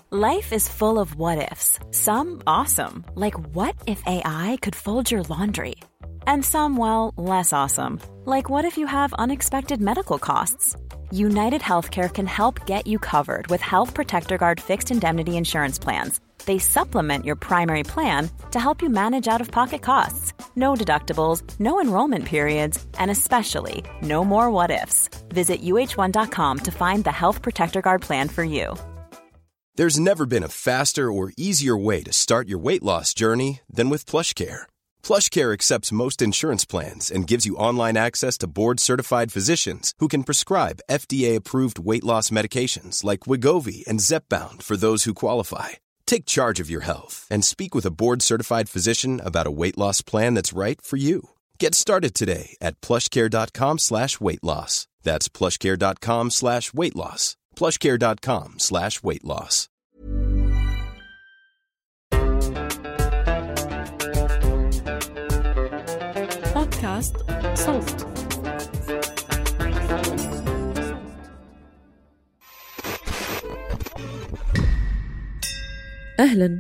Life is full of what-ifs. Some awesome, like what if AI could fold your laundry? And some, well, less awesome, like what if you have unexpected medical costs? United Healthcare can help get you covered with Health Protector Guard fixed indemnity insurance plans. They supplement your primary plan to help you manage out-of-pocket costs. No deductibles, no enrollment periods, and especially no more what-ifs. Visit uh1.com to find the Health Protector Guard plan for you. There's never been a faster or easier way to start your weight loss journey than with PlushCare. PlushCare accepts most insurance plans and gives you online access to board-certified physicians who can prescribe FDA-approved weight loss medications like Wegovy and Zepbound for those who qualify. Take charge of your health and speak with a board-certified physician about a weight loss plan that's right for you. Get started today at plushcare.com/weight-loss. That's plushcare.com/weight-loss. plushcare.com/weight-loss. بودكاست صوت. أهلاً،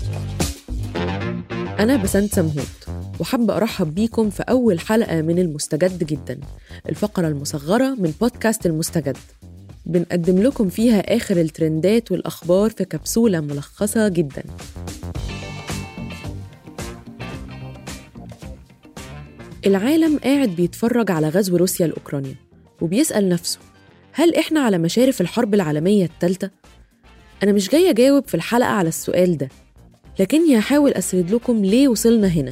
أنا بسنت سمهوت وحابة أرحب بيكم في أول حلقة من المستجد جداً، الفقرة المصغرة من بودكاست المستجد. بنقدم لكم فيها آخر الترندات والأخبار في كبسولة ملخصة جداً. العالم قاعد بيتفرج على غزو روسيا لأوكرانيا وبيسأل نفسه، هل إحنا على مشارف الحرب العالمية الثالثة؟ أنا مش جاية أجاوب في الحلقة على السؤال ده، لكني هحاول أسرد لكم ليه وصلنا هنا.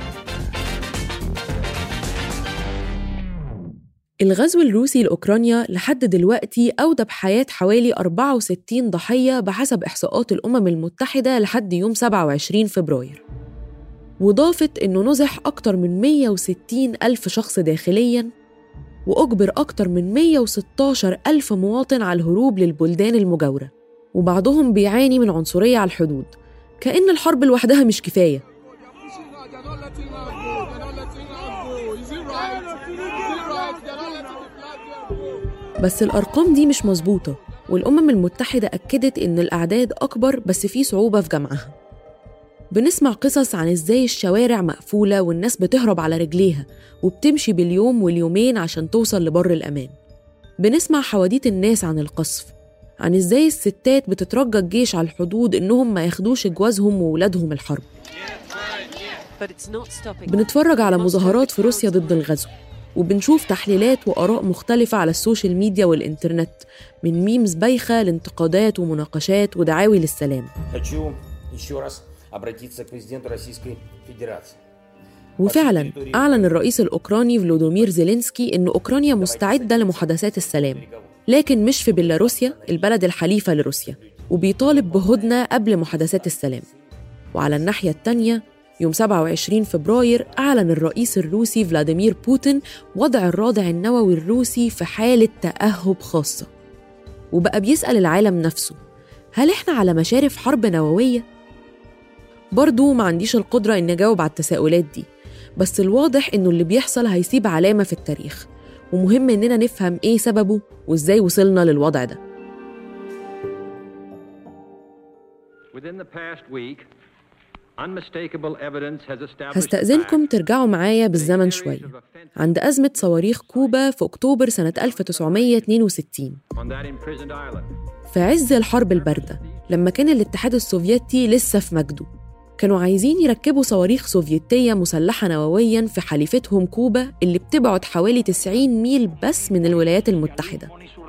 الغزو الروسي لأوكرانيا لحد دلوقتي أودى بحياة حوالي 64 ضحية بحسب إحصاءات الأمم المتحدة لحد يوم 27 فبراير، وضافت إنه نزح أكتر من 160 ألف شخص داخلياً، وأجبر أكتر من 116 ألف مواطن على الهروب للبلدان المجاورة، وبعضهم بيعاني من عنصرية على الحدود، كأن الحرب لوحدها مش كفاية. بس الأرقام دي مش مظبوطة، والأمم المتحدة أكدت إن الأعداد أكبر بس في صعوبة في جمعها. بنسمع قصص عن إزاي الشوارع مقفولة والناس بتهرب على رجليها وبتمشي باليوم واليومين عشان توصل لبر الأمان. بنسمع حواديت الناس عن القصف، عن إزاي الستات بتترجى الجيش على الحدود إنهم ما ياخدوش جوازهم وولادهم الحرب. بنتفرج على مظاهرات في روسيا ضد الغزو، وبنشوف تحليلات وآراء مختلفة على السوشيال ميديا والإنترنت، من ميمز بايخة لانتقادات ومناقشات ودعاوي للسلام. وفعلاً أعلن الرئيس الأوكراني فلوديمير زيلينسكي إن أوكرانيا مستعدة لمحادثات السلام، لكن مش في بيلاروسيا البلد الحليفة لروسيا، وبيطالب بهدنة قبل محادثات السلام. وعلى الناحية التانية، يوم 27 فبراير أعلن الرئيس الروسي فلاديمير بوتين وضع الرادع النووي الروسي في حالة تأهب خاصة، وبقى بيسأل العالم نفسه، هل إحنا على مشارف حرب نووية؟ برضو ما عنديش القدرة إن أجاوب على التساؤلات دي، بس الواضح إنه اللي بيحصل هيسيب علامة في التاريخ، ومهم إننا نفهم إيه سببه وإزاي وصلنا للوضع ده. هستأذنكم ترجعوا معايا بالزمن شوية عند أزمة صواريخ كوبا في أكتوبر سنة 1962، في عز الحرب الباردة لما كان الاتحاد السوفيتي لسه في مجده. كانوا عايزين يركبوا صواريخ سوفيتية مسلحة نووياً في حليفتهم كوبا اللي بتبعد حوالي 90 ميل بس من الولايات المتحدة.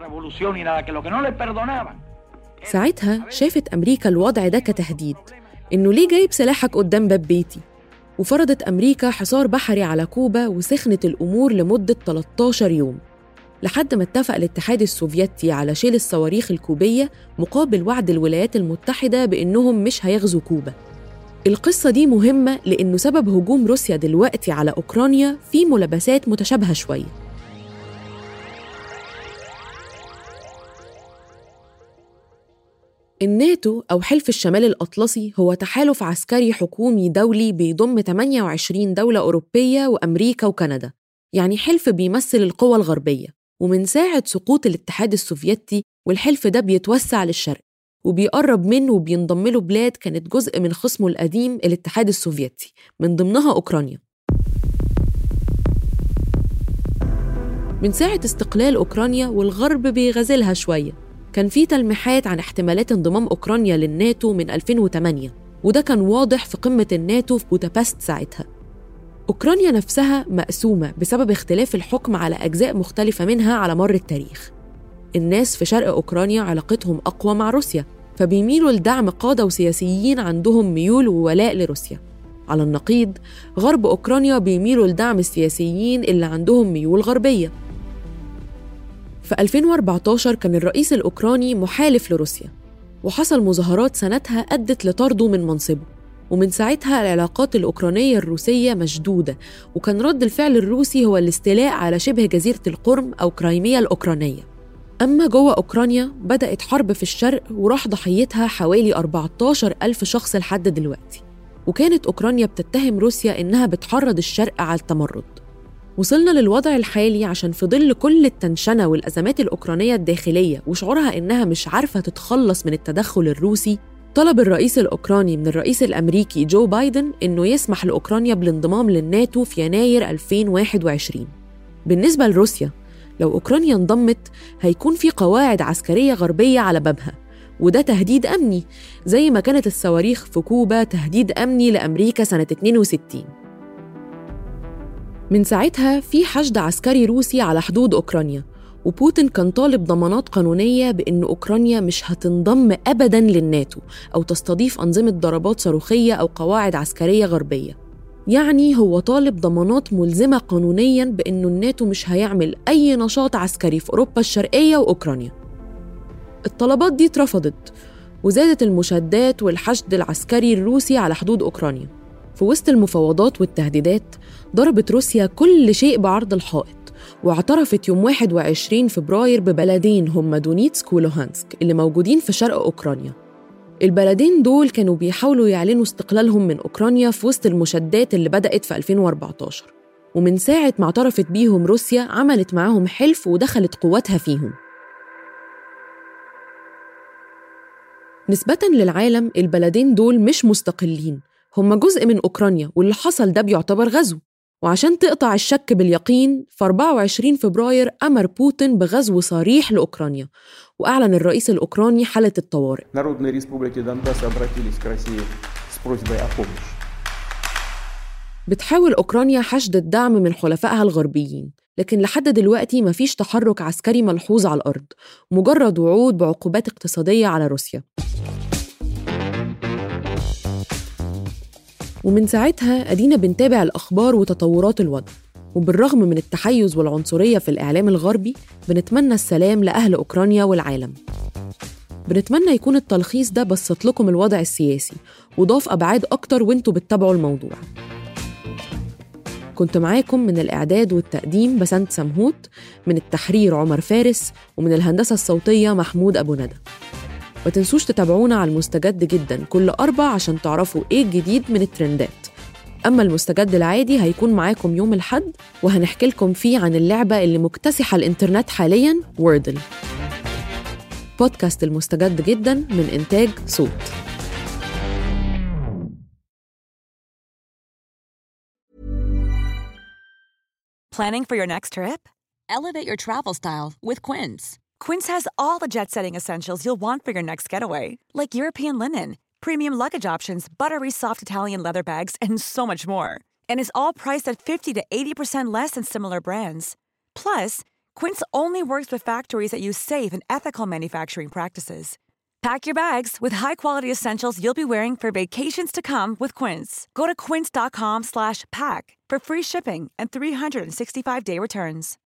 ساعتها شافت أمريكا الوضع ده كتهديد، إنه ليه جايب سلاحك قدام باب بيتي؟ وفرضت أمريكا حصار بحري على كوبا، وسخنت الأمور لمدة 13 يوم لحد ما اتفق الاتحاد السوفيتي على شيل الصواريخ الكوبية مقابل وعد الولايات المتحدة بإنهم مش هيغزوا كوبا. القصة دي مهمة لأنه سبب هجوم روسيا دلوقتي على أوكرانيا في ملابسات متشابهة شوية. الناتو أو حلف الشمال الأطلسي هو تحالف عسكري حكومي دولي بيضم 28 دولة أوروبية وأمريكا وكندا، يعني حلف بيمثل القوى الغربية. ومن ساعة سقوط الاتحاد السوفيتي والحلف ده بيتوسع للشرق، وبيقرب منه وبينضم له بلاد كانت جزء من خصمه القديم الاتحاد السوفيتي، من ضمنها أوكرانيا. من ساعة استقلال أوكرانيا والغرب بيغازلها شوية، كان في تلميحات عن احتمالات انضمام أوكرانيا للناتو من 2008، وده كان واضح في قمة الناتو في بودابست ساعتها. أوكرانيا نفسها مقسومة بسبب اختلاف الحكم على أجزاء مختلفة منها على مر التاريخ. الناس في شرق أوكرانيا علاقتهم أقوى مع روسيا، فبيميلوا لدعم قادة وسياسيين عندهم ميول وولاء لروسيا. على النقيض، غرب أوكرانيا بيميلوا لدعم السياسيين اللي عندهم ميول غربية. في 2014 كان الرئيس الأوكراني محالف لروسيا، وحصل مظاهرات سنتها أدت لطرده من منصبه، ومن ساعتها العلاقات الأوكرانية الروسية مشدودة، وكان رد الفعل الروسي هو الاستيلاء على شبه جزيرة القرم أو كرايميا الأوكرانية. أما جوه أوكرانيا بدأت حرب في الشرق وراح ضحيتها حوالي 14,000 شخص لحد دلوقتي، وكانت أوكرانيا بتتهم روسيا إنها بتحرض الشرق على التمرد. وصلنا للوضع الحالي عشان في ظل كل التنشنة والأزمات الأوكرانية الداخلية وشعورها إنها مش عارفة تتخلص من التدخل الروسي، طلب الرئيس الأوكراني من الرئيس الأمريكي جو بايدن إنه يسمح لأوكرانيا بالانضمام للناتو في يناير 2021. بالنسبة لروسيا، لو أوكرانيا انضمت هيكون في قواعد عسكرية غربية على بابها، وده تهديد أمني زي ما كانت الصواريخ في كوبا تهديد أمني لأمريكا سنة 62. من ساعتها في حشد عسكري روسي على حدود أوكرانيا، وبوتين كان طالب ضمانات قانونية بأن أوكرانيا مش هتنضم أبداً للناتو أو تستضيف أنظمة ضربات صاروخية أو قواعد عسكرية غربية. يعني هو طالب ضمانات ملزمة قانونياً بأنه الناتو مش هيعمل أي نشاط عسكري في أوروبا الشرقية وأوكرانيا. الطلبات دي اترفضت، وزادت المشادات والحشد العسكري الروسي على حدود أوكرانيا. في وسط المفاوضات والتهديدات ضربت روسيا كل شيء بعرض الحائط، واعترفت يوم 21 فبراير ببلدين هم دونيتسك ولوهانسك اللي موجودين في شرق أوكرانيا. البلدين دول كانوا بيحاولوا يعلنوا استقلالهم من أوكرانيا في وسط المشادات اللي بدأت في 2014، ومن ساعة ما اعترفت بيهم روسيا عملت معاهم حلف ودخلت قواتها فيهم. نسبة للعالم البلدين دول مش مستقلين، هم جزء من أوكرانيا، واللي حصل ده بيعتبر غزو. وعشان تقطع الشك باليقين، في 24 فبراير أمر بوتين بغزو صريح لأوكرانيا، وأعلن الرئيس الأوكراني حالة الطوارئ. بتحاول أوكرانيا حشد الدعم من حلفائها الغربيين، لكن لحد دلوقتي مفيش تحرك عسكري ملحوظ على الأرض، مجرد وعود بعقوبات اقتصادية على روسيا. ومن ساعتها أدينا بنتابع الأخبار وتطورات الوضع، وبالرغم من التحيز والعنصرية في الإعلام الغربي بنتمنى السلام لأهل أوكرانيا والعالم. بنتمنى يكون التلخيص ده بسط لكم الوضع السياسي وضاف أبعاد أكتر وانتوا بتتابعوا الموضوع. كنت معاكم من الإعداد والتقديم بسنت سمهوت، من التحرير عمر فارس، ومن الهندسة الصوتية محمود أبو ندى. ما تنسوش تتابعونا على المستجد جدا كل 4 عشان تعرفوا إيه الجديد من الترندات. أما المستجد العادي هيكون معاكم يوم الأحد، وهنحكي لكم فيه عن اللعبة اللي مكتسحة الإنترنت حالياً، ووردل. بودكاست المستجد جدا من إنتاج صوت. Planning for your next trip? Elevate your travel style with Quince. Quince has all the jet-setting essentials you'll want for your next getaway, like European linen, premium luggage options, buttery soft Italian leather bags, and so much more. And is all priced at 50 to 80% less than similar brands. Plus, Quince only works with factories that use safe and ethical manufacturing practices. Pack your bags with high-quality essentials you'll be wearing for vacations to come with Quince. Go to quince.com/pack for free shipping and 365-day returns.